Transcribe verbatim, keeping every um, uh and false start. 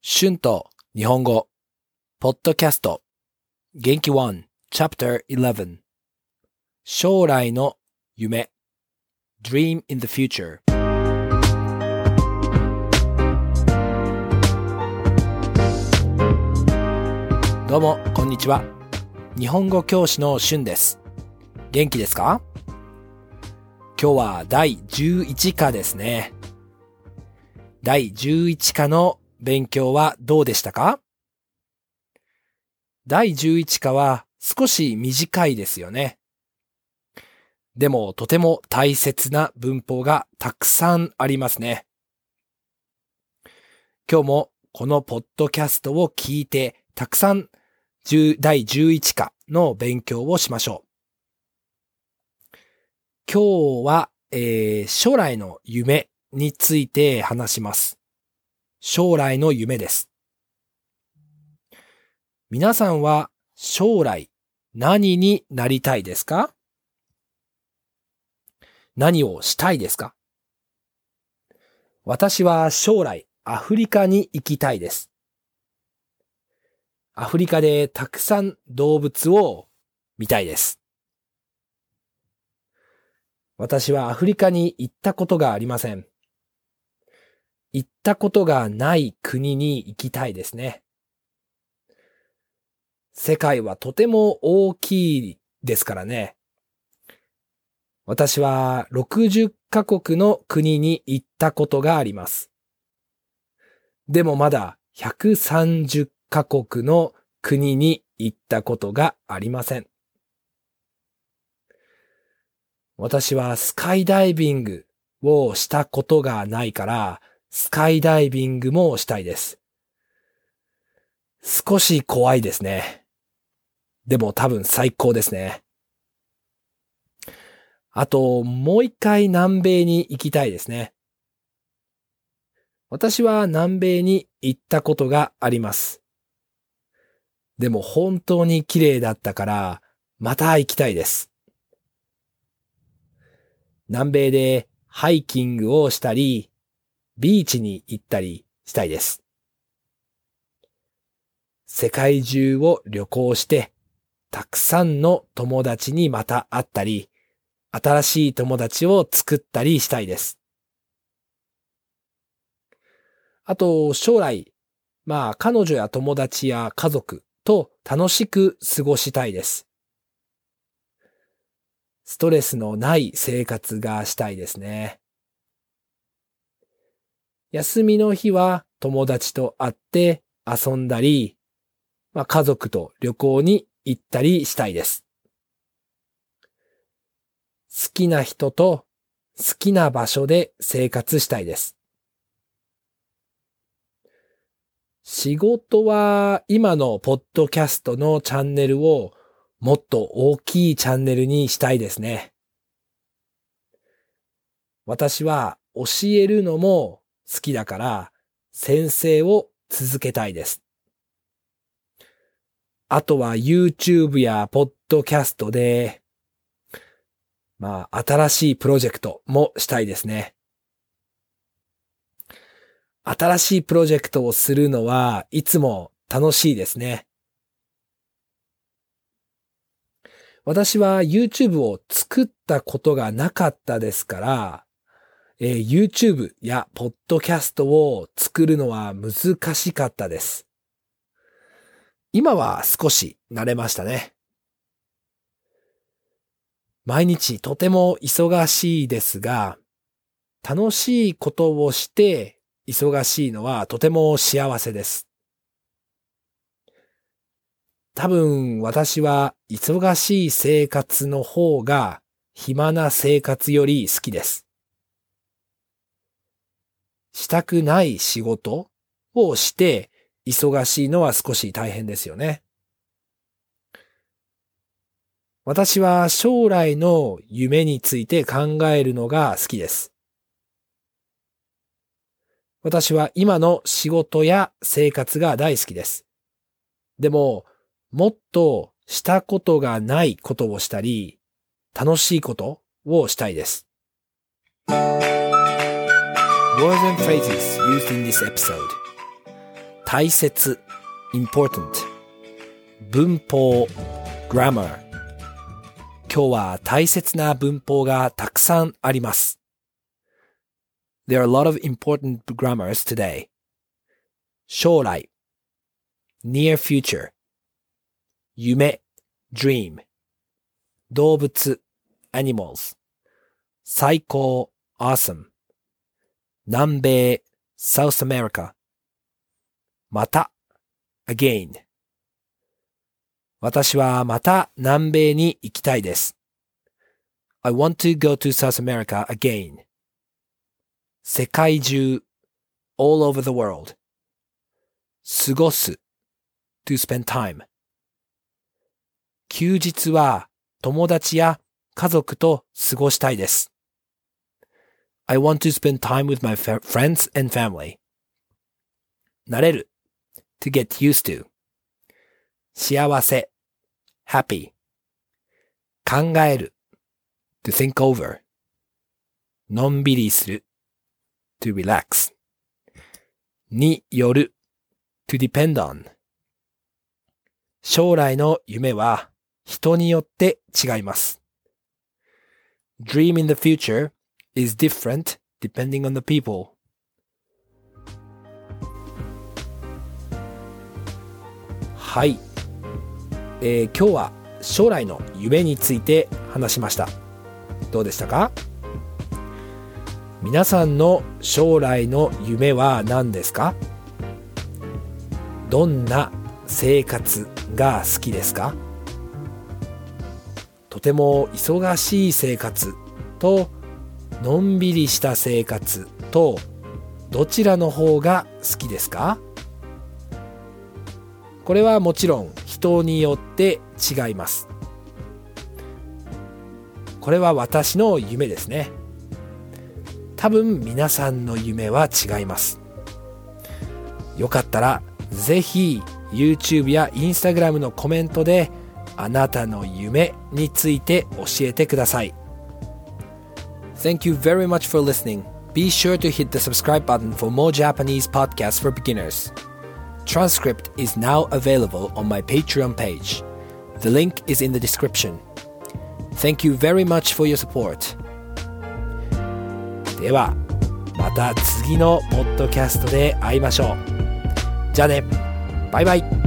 春と日本語ポッドキャスト元気いち Chapter じゅういち将来の夢 Dream in the Future。 どうもこんにちは。日本語教師の春です。元気ですか？今日はだいじゅういち課ですね。だいじゅういち課の勉強はどうでしたか？だいじゅういち課は少し短いですよね。でもとても大切な文法がたくさんありますね。今日もこのポッドキャストを聞いてたくさんだいじゅういち課の勉強をしましょう。今日は、えー、将来の夢について話します。将来の夢です。皆さんは将来何になりたいですか？何をしたいですか？私は将来アフリカに行きたいです。アフリカでたくさん動物を見たいです。私はアフリカに行ったことがありません。行ったことがない国に行きたいですね。世界はとても大きいですからね。私はろくじゅっカ国の国に行ったことがあります。でもまだひゃくさんじゅっカ国の国に行ったことがありません。私はスカイダイビングをしたことがないから、スカイダイビングもしたいです。少し怖いですね。でも多分最高ですね。あと、もう一回南米に行きたいですね。私は南米に行ったことがあります。でも本当に綺麗だったから、また行きたいです。南米でハイキングをしたり、ビーチに行ったりしたいです。世界中を旅行して、たくさんの友達にまた会ったり、新しい友達を作ったりしたいです。あと、将来、まあ、彼女や友達や家族と楽しく過ごしたいです。ストレスのない生活がしたいですね。休みの日は友達と会って遊んだり、まあ、家族と旅行に行ったりしたいです。好きな人と好きな場所で生活したいです。仕事は今のポッドキャストのチャンネルをもっと大きいチャンネルにしたいですね。私は教えるのも好きだから先生を続けたいです。あとは YouTube やポッドキャストで、まあ新しいプロジェクトもしたいですね。新しいプロジェクトをするのはいつも楽しいですね。私は YouTube を作ったことがなかったですから、えー、YouTube やポッドキャストを作るのは難しかったです。今は少し慣れましたね。毎日とても忙しいですが、楽しいことをして忙しいのはとても幸せです。多分私は忙しい生活の方が暇な生活より好きです。したくない仕事をして忙しいのは少し大変ですよね。私は将来の夢について考えるのが好きです。私は今の仕事や生活が大好きです。でも、もっとしたことがないことをしたり、楽しいことをしたいです。Words and phrases used in this episode。 大切 important 文法 grammar 今日は大切な文法がたくさんあります。There are a lot of important grammars today. 将来 near future 夢 dream 動物 animals 最高 awesome 南米 South America また again 私はまた南米に行きたいです。I want to go to South America again. 世界中 all over the world. 過ごす to spend time. 休日は友達や家族と過ごしたいです。I want to spend time with my friends and family. 慣れる to get used to. 幸せ happy 考える to think over のんびりする to relax による to depend on 将来の夢は人によって違います。Dream in the future is different depending on the people. はい、えー、今日は将来の夢について話しました。どうでしたか？皆さんの将来の夢は何ですか？どんな生活が好きですか？とても忙しい生活とのんびりした生活とどちらの方が好きですか？これはもちろん人によって違います。これは私の夢ですね。多分皆さんの夢は違います。よかったらぜひ YouTube や Instagram のコメントであなたの夢について教えてください。Thank you very much for listening. Be sure to hit the subscribe button for more Japanese podcasts for beginners. Transcript is now available on my Patreon page. The link is in the description. Thank you very much for your support. では、また次のポッドキャストで会いましょう。じゃあね、バイバイ。